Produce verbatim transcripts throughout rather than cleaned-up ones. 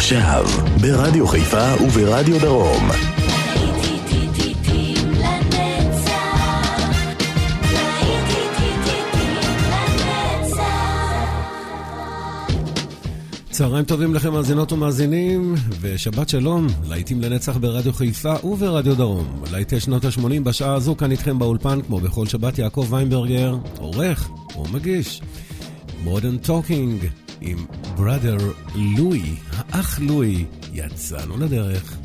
עכשיו, ברדיו חיפה וברדיו דרום. צהריים טובים לכם מאזינות ומאזינים, ושבת שלום, להיטים לנצח ברדיו חיפה וברדיו דרום. להיטי שנות ה-שמונים בשעה הזו כאן איתכם באולפן, כמו בכל שבת, יעקב ויינברגר, עורך ומגיש. Modern Talking עם בראדר לואי, האח לואי, יצאנו לדרך.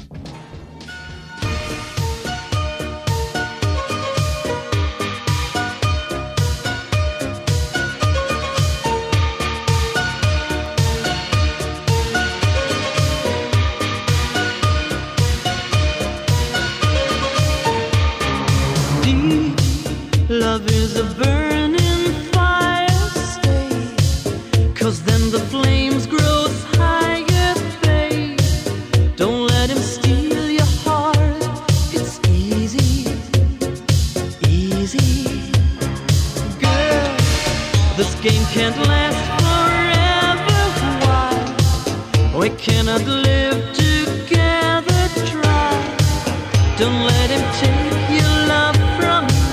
Love is a burning fire, stay, 'cause then the flames grow higher, babe. Don't let him steal your heart, it's easy, easy. Girl, this game can't last forever, why? We cannot live together, try. Don't let him take your love from you.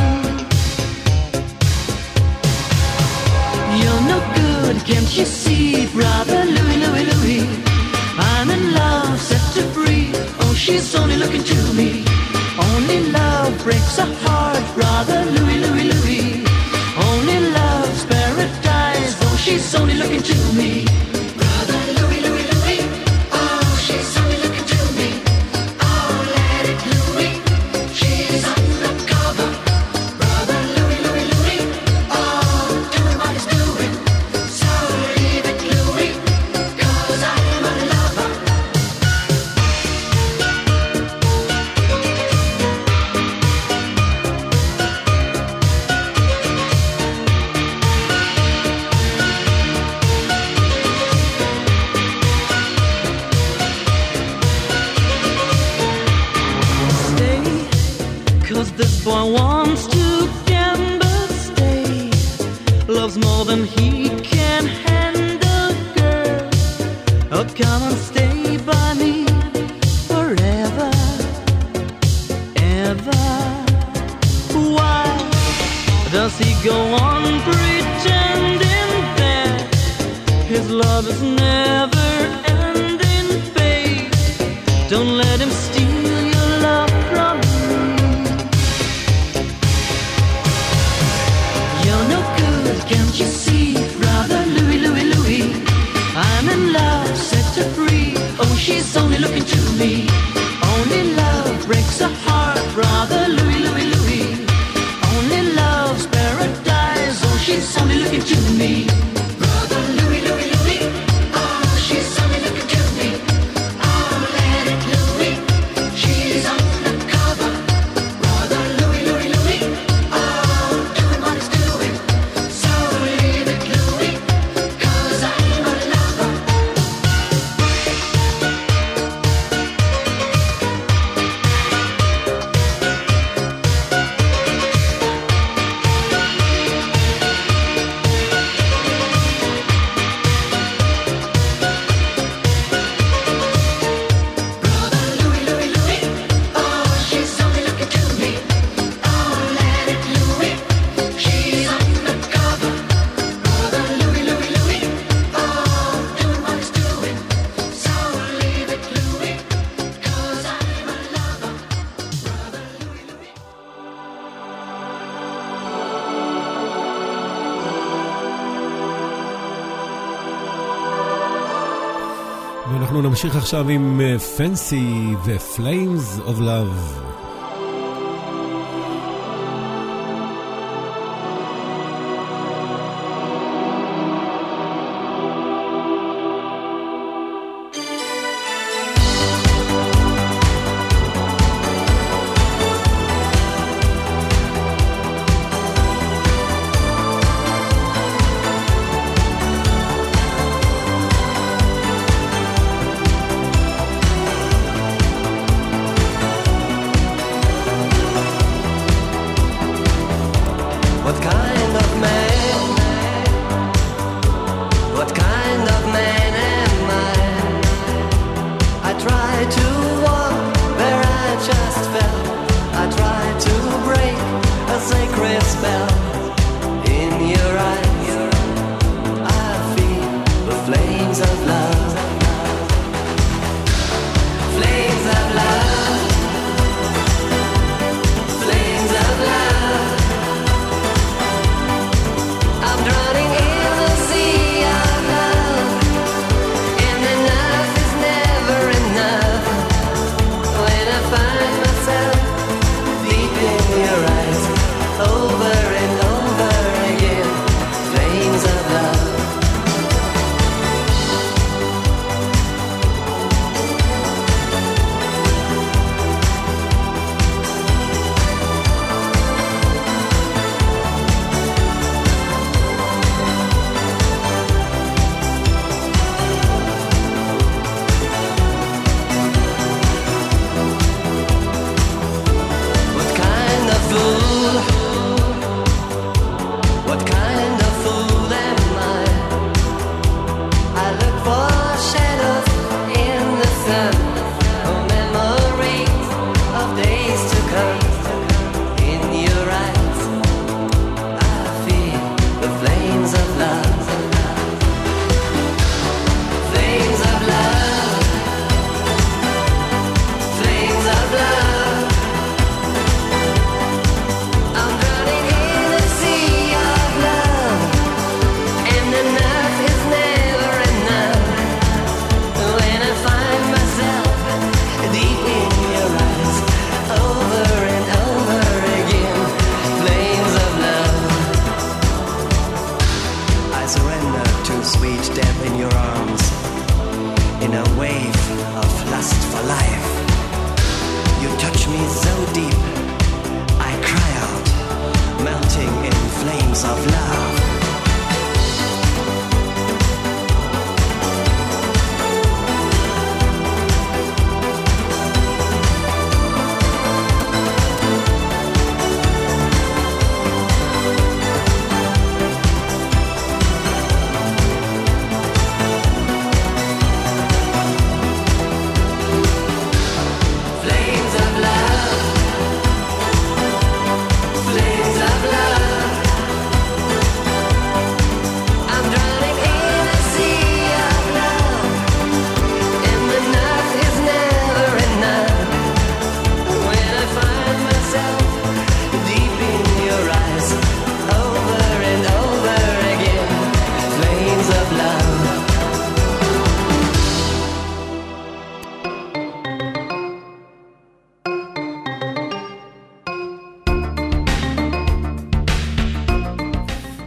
Can't you see, brother Louie, Louie, Louie? I'm in love, set to free. Oh, she's only looking to me. Only love breaks a heart, brother Louie, Louie, Louie. Only love's paradise. Oh, she's only looking to me. Brother Louie, Louie, Louie. Oh, she's only looking to me. Oh, let it Louie. She's undercover. Brother Louie, Louie, Louie. Oh, doing what he's doing. This boy wants to gamble, stay. Loves more than he can handle, girl. Oh, come and stay by me forever, ever. Why does he go on pretending that his love is never ending, babe? Don't let him steal your love from me. Can't you see, brother Louie, Louie, Louie? I'm in love, set her free. Oh, she's only looking to me. Only love breaks a heart, brother Louie, Louie, Louie. Only love's paradise. Oh, she's only looking to me. Brother Louie, Louie, Louie. Oh, she's only looking to me. Oh, let it Louie. She's undercover. Brother Louie, Louie, Louie. Oh, doing what he's doing. ואנחנו נמשיך עכשיו עם Fancy ו-Flames of Love.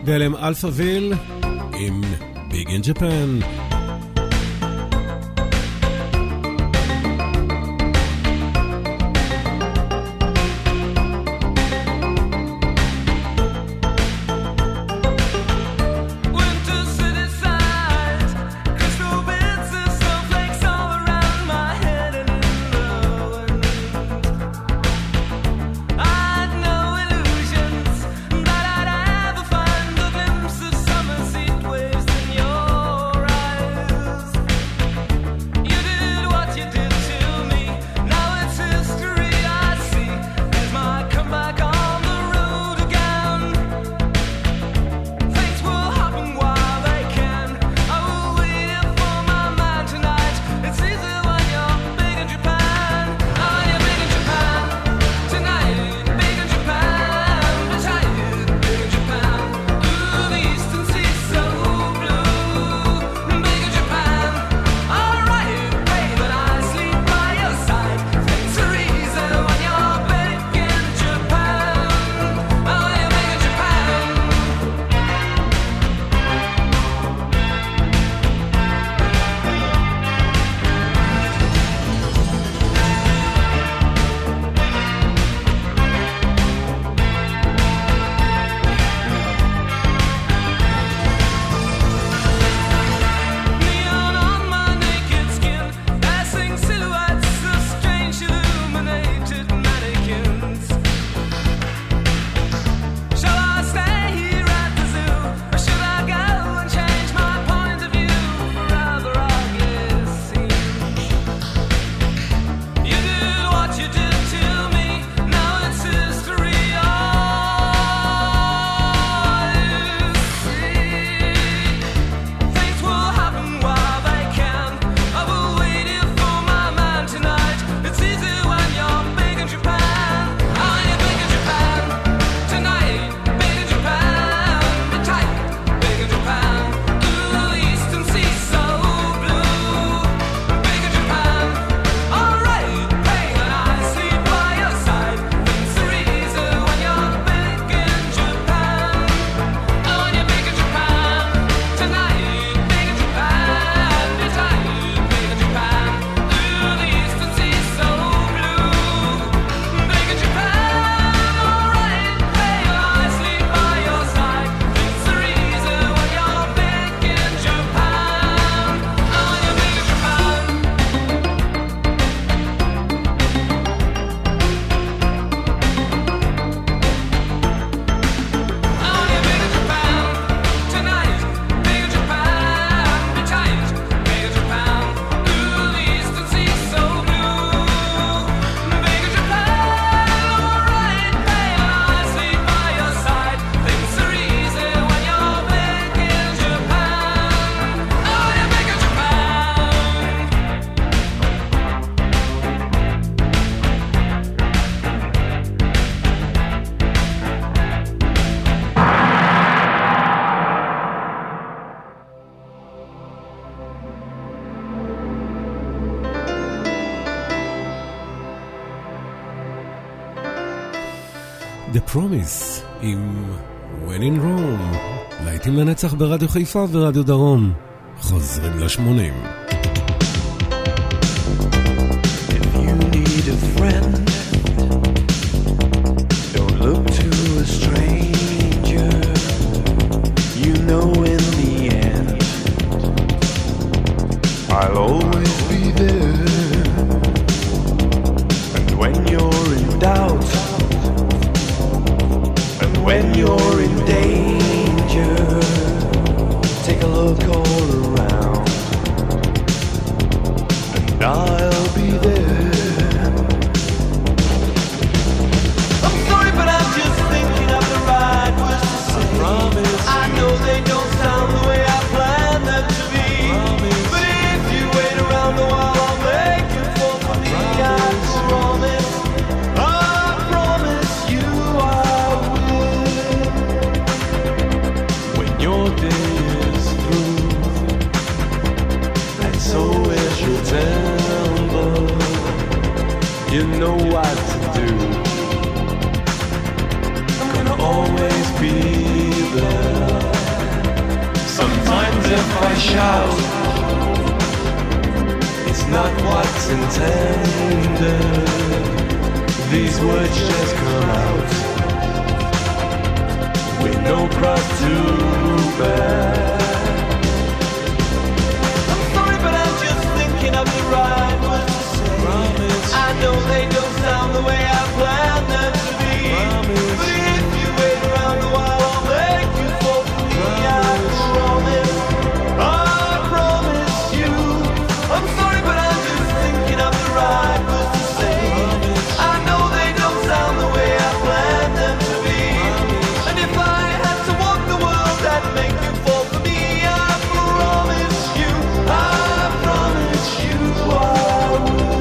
ואלם אלפאביל עם Big in Japan. The Promise עם When in Rome, להיטים לנצח ברדיו חיפה ורדיו דרום. חוזרים לשמונים. If you need a friend, don't look to a stranger. You know in the end, I'll always be there. And when you're in doubt, when you're in danger, take a look all around, and I'll be there. I'm sorry, but I'm just thinking of the right words to say. I promise. I know they don't sound the way I planned them to be. Promise. But if you wait around a while, I'll make it fall for me. Promise. I promise. I promise you I your day is through, and so is your temper. You know what to do. I'm gonna always be there. if I shout, it's not what's intended. These words just come out with no cross to bear. I'm sorry, but I'm just thinking of the right words to say. Promise. I know they don't sound the way I planned them to be. Promise. But if you wait around a while, I'll make you fall for me. Promise. I promise. I promise you. I'm sorry, but I'm just thinking of the right words to say. Promise. I know they don't sound the way I planned them to be. Promise. And if I had to walk the world, I'd make you fall for me. I promise you. I promise you I would.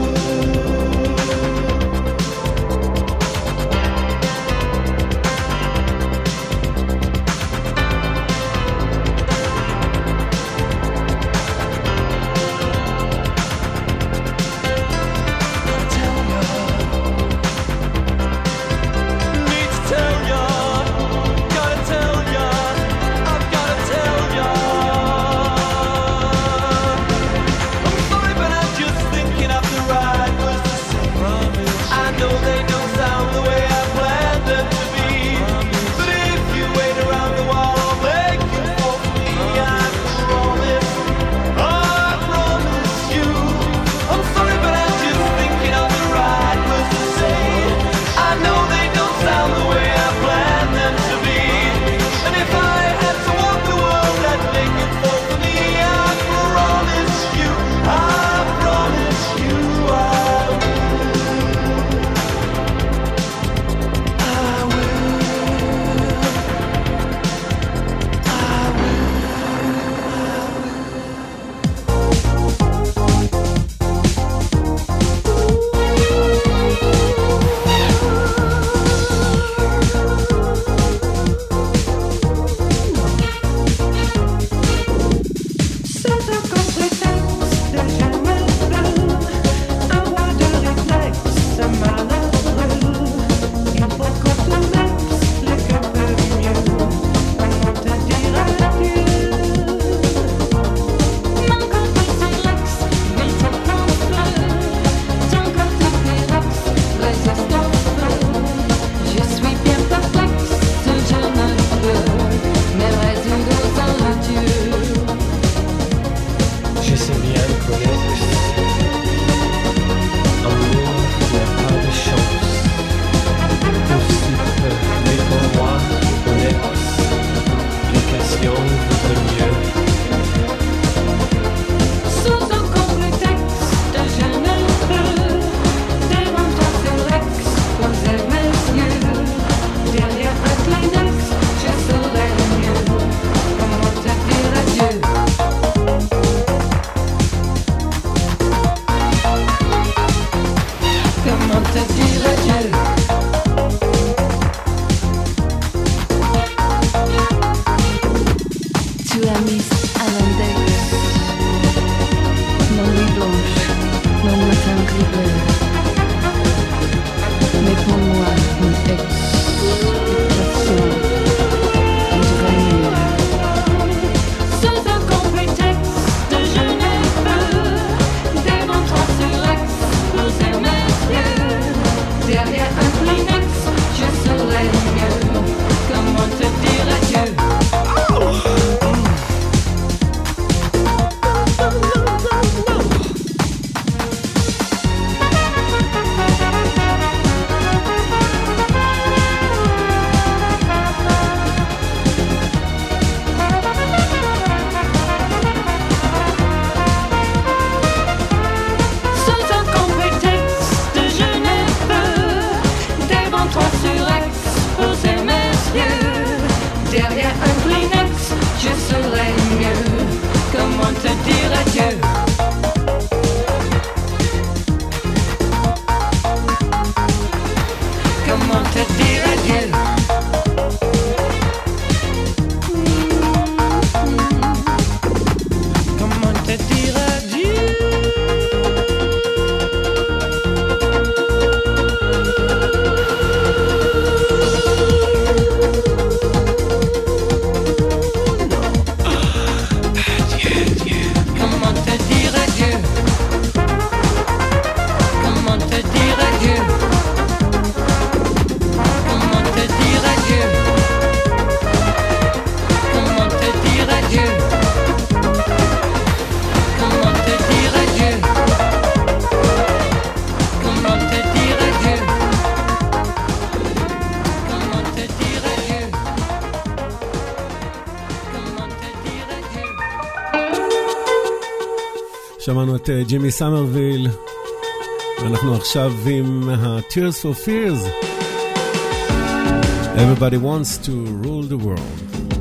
שמענו את ג'ימי סמרוויל, ואנחנו עכשיו עם ה-Tears for Fears. Everybody wants to rule the world.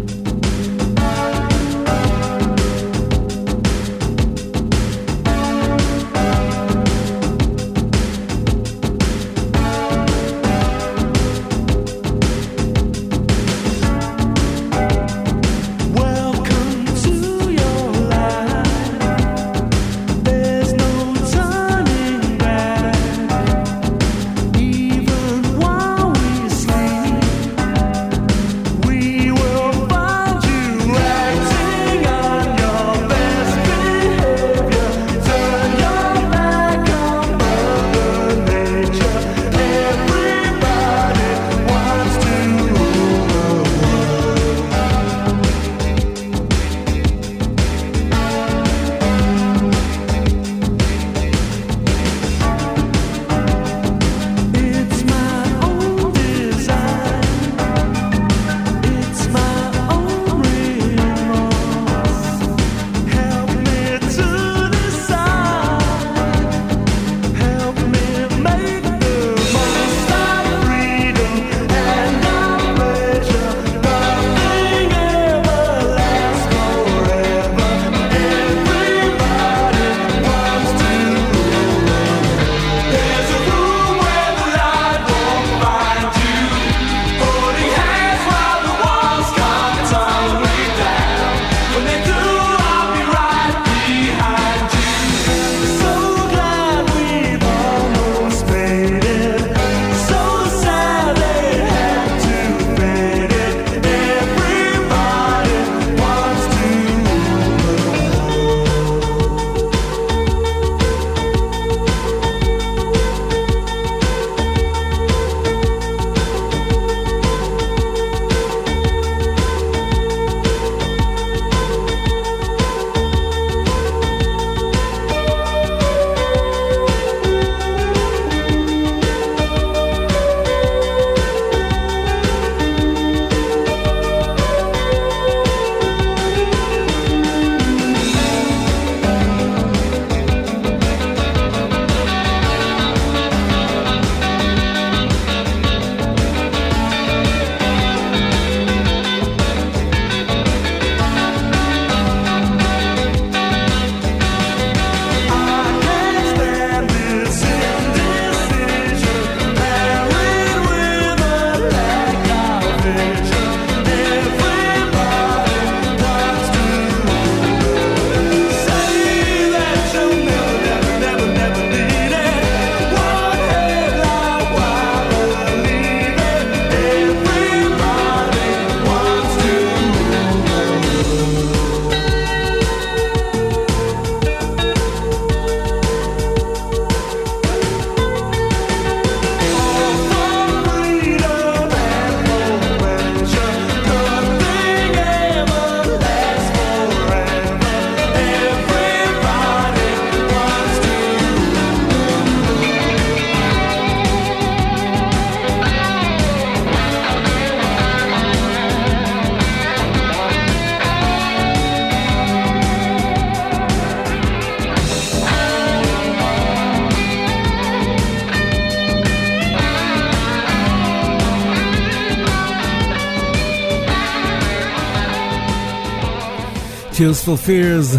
Tears for Fears.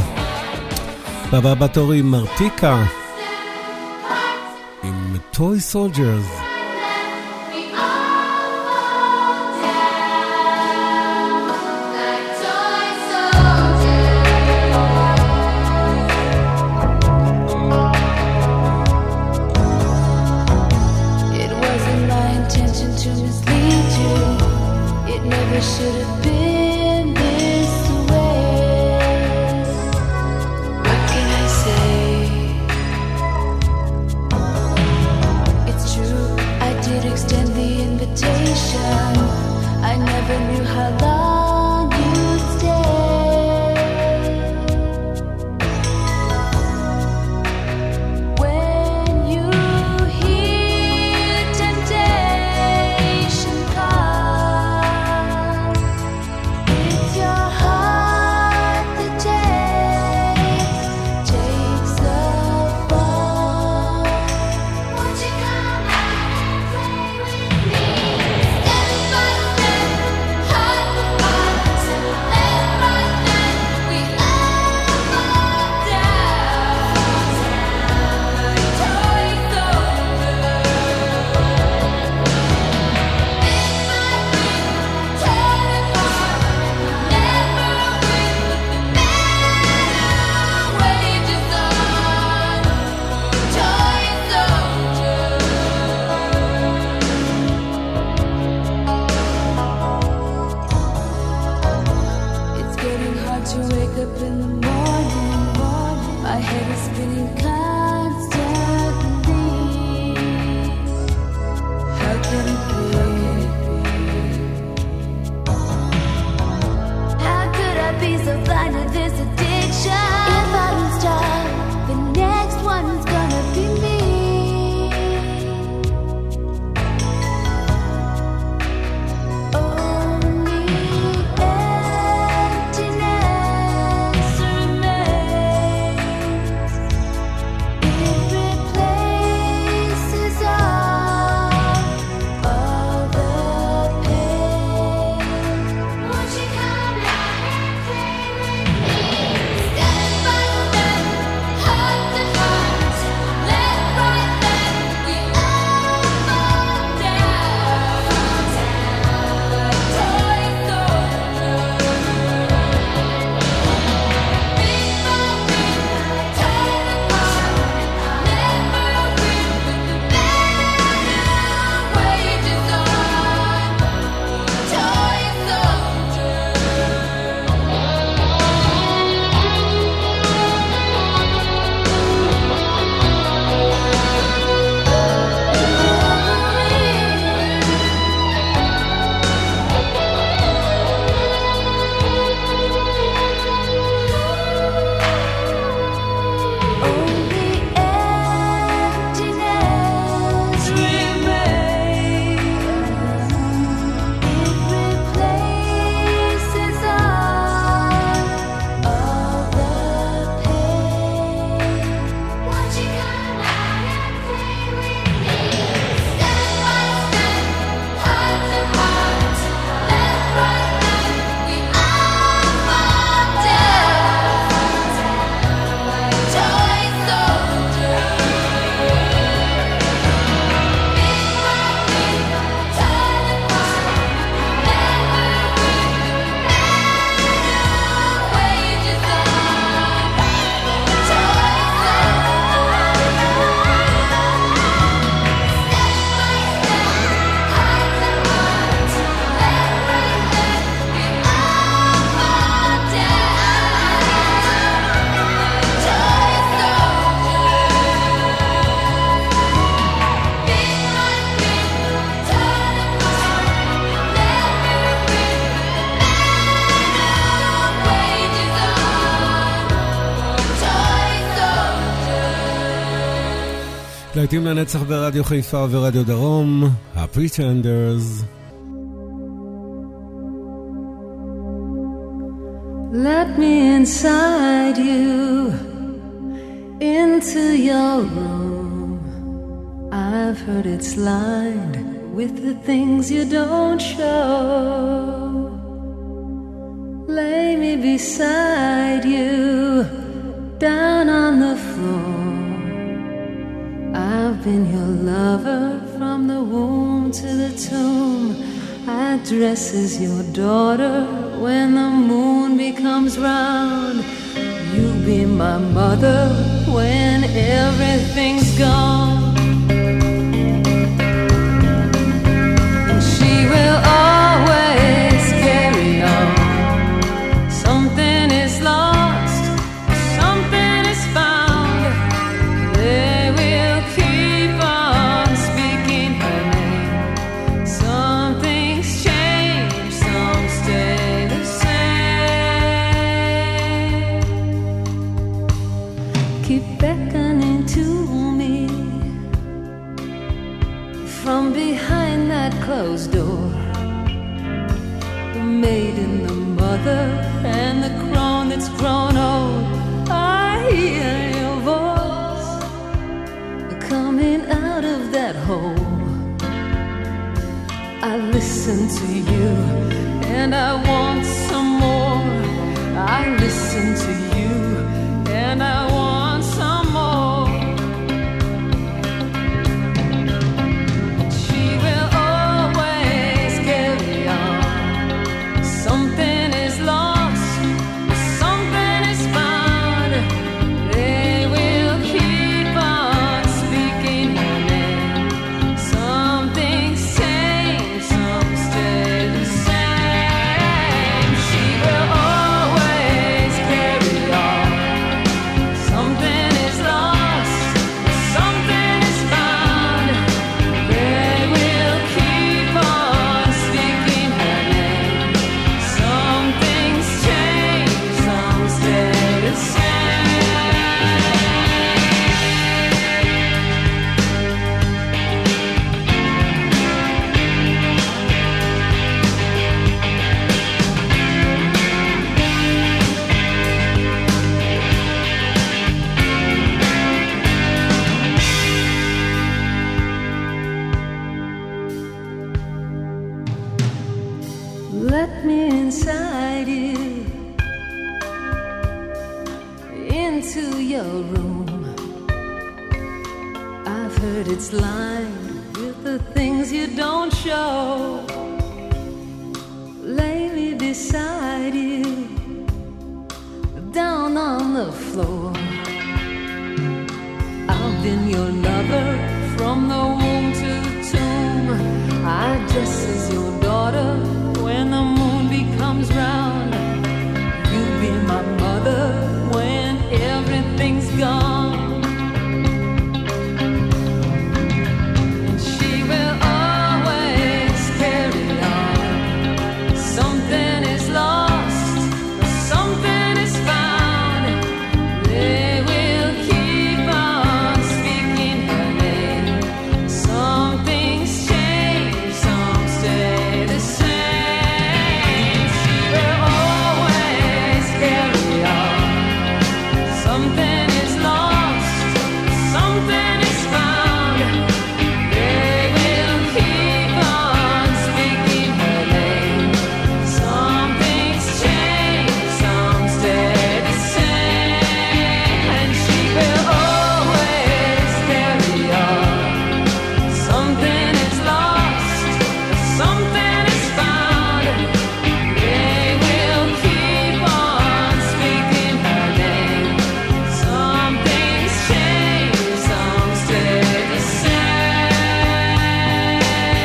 בבא בתורי מרטיקה עם Toy Soldiers. Should have been this way. What can I say? It's true, I did extend the invitation. I never knew how long you'd stay. When you hear temptation call, it's your heart that takes, takes להיטים לנצח ברדיו חיפה ורדיו דרום, ה-Pretenders. Let me inside you, into your room. I've heard it's lined with the things you don't show. Lay me beside you, down on the floor. I've been your lover from the womb to the tomb. I dress as your daughter when the moon becomes round. You be my mother when everything's gone. And she will always carry on. Something is lost, something is found. They will keep on speaking her name. Some things change, some stay the same. Keep beckoning to me from behind that closed door. The maiden, the mother, and the crone that's grown old. I hear your voice coming out of that hole. I listen to you and I want some more. I listen to you and I want some more. She will always carry on. Something is lost, something is found. They will keep on speaking her name. Some things change, some stay the same. She will always carry on. Something is lost, something is found. They will keep on speaking her name. Some things change, some stay the same. Let me inside you, into your room. I've heard it's lined with the things you don't show. Lay me beside you, down on the floor. I've been your lover from the womb to the tomb. I dress as your daughter when the moon becomes round. You be my mother when everything's gone. And she will always carry on. Something is lost, something is found. They will keep on speaking her name. Some things change, some stay the same. She will always carry on. Something is lost, something is found. They will keep on speaking her name. Some things change, some stay the same. And she will always carry on. Something is lost, something is found. They will keep on speaking her name. Some things change, some stay the same.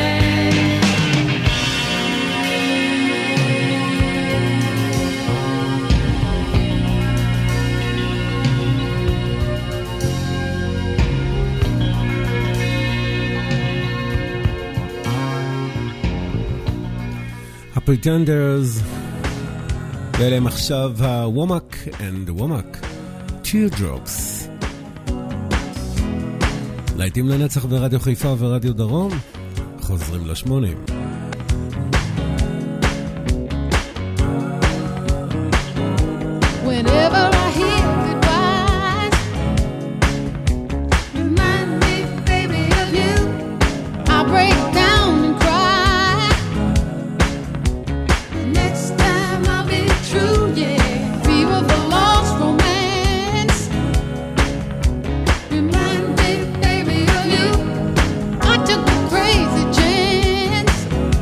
ה-Pretenders, ואלה הם עכשיו ה-Womack and Womack, Teardrops. להיטים לנצח ברדיו חיפה ורדיו דרום, חוזרים לשמונים. Whenever I hear goodbyes, remind me, baby, of you. I break down and cry. The next time I'll be true, yeah. Fever for lost romance. Remind me, baby, of you. I took a crazy chance.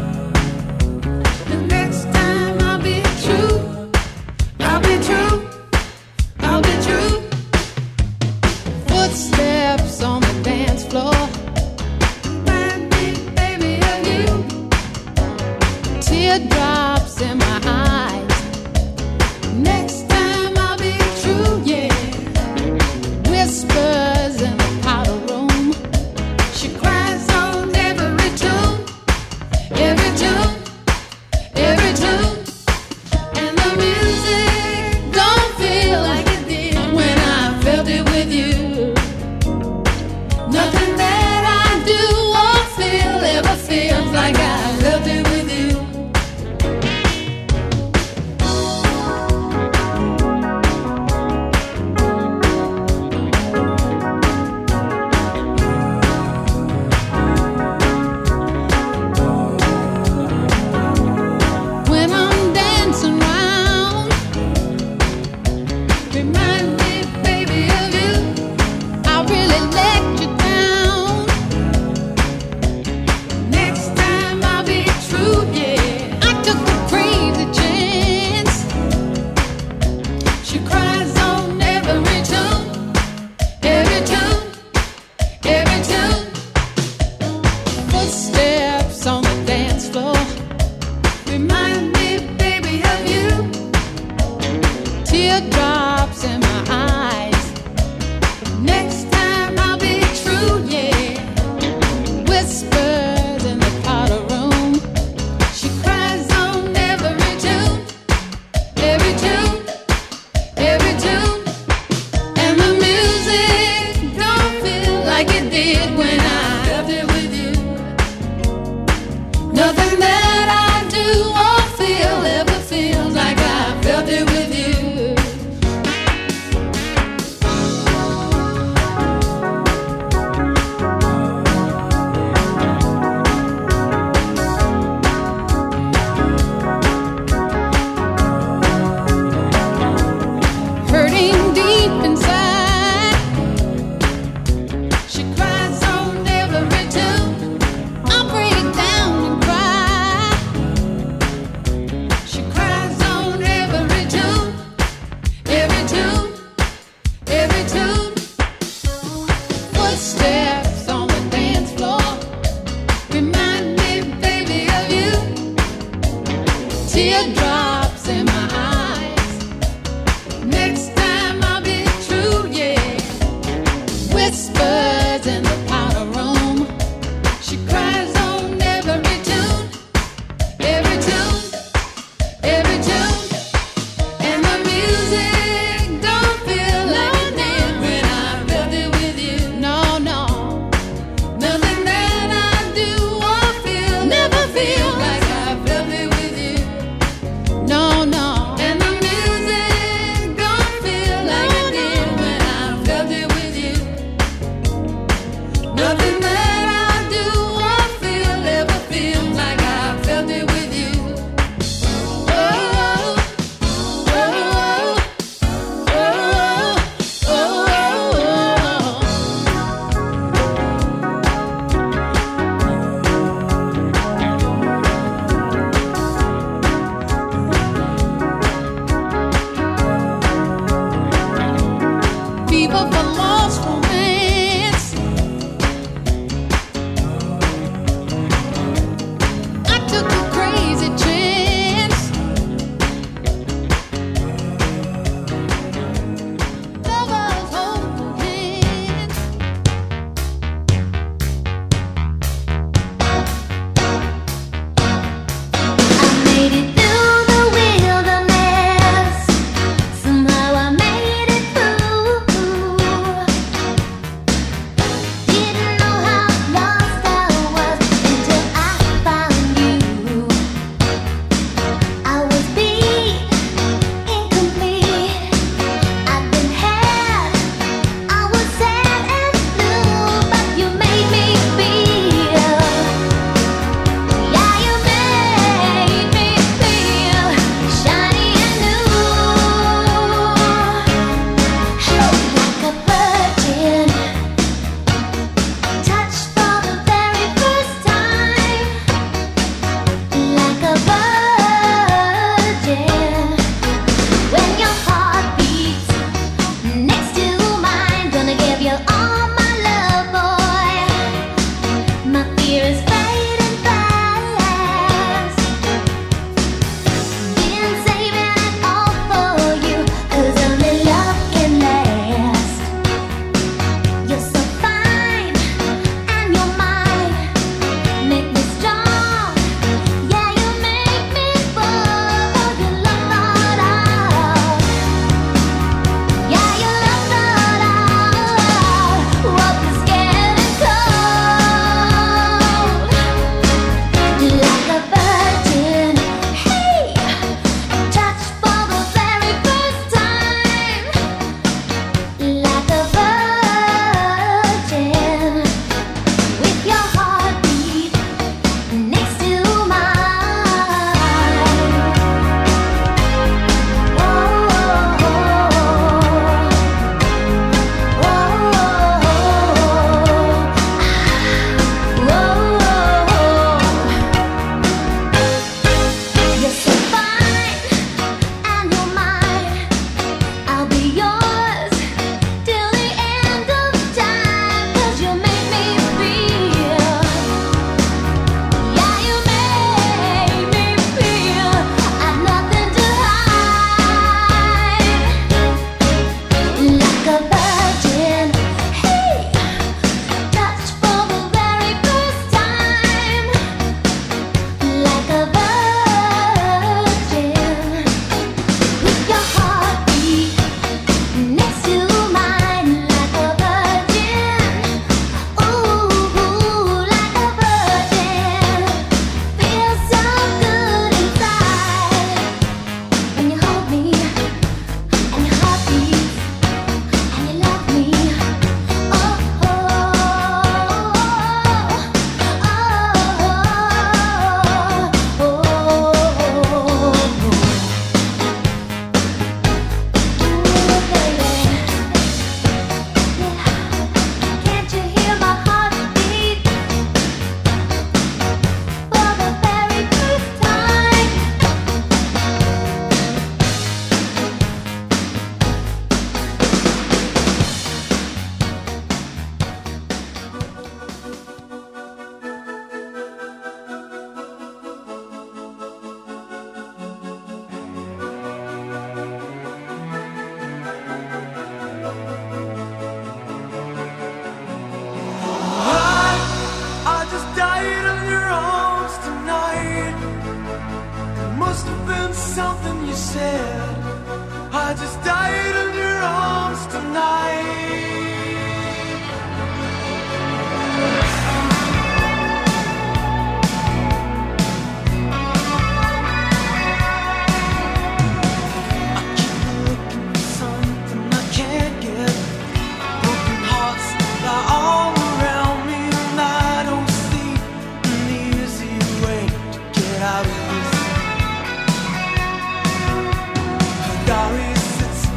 Diary sits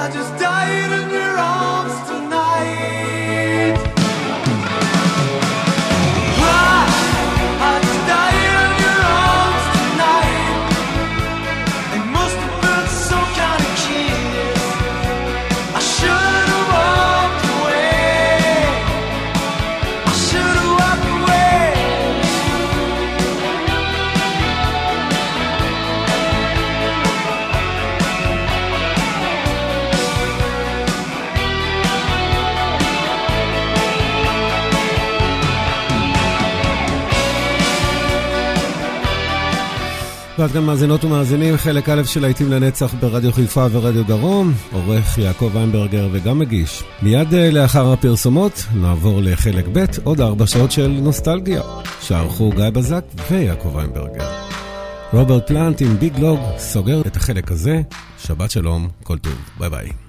just died in your arms tonight. Cry, I just died in your arms tonight. It must have been some kind of kiss. I should have walked away. I should have walked away. ועד כאן מאזינות ומאזינים, חלק א' של להיטים לנצח ברדיו חיפה ורדיו דרום, עורך יעקב ויינברגר וגם מגיש. מיד לאחר הפרסומות נעבור לחלק ב', עוד ארבע שעות של נוסטלגיה, שערכו גיא בזק ויעקב ויינברגר. רוברט פלנט עם ביג לוג סוגר את החלק הזה. שבת שלום, כל טוב, ביי ביי.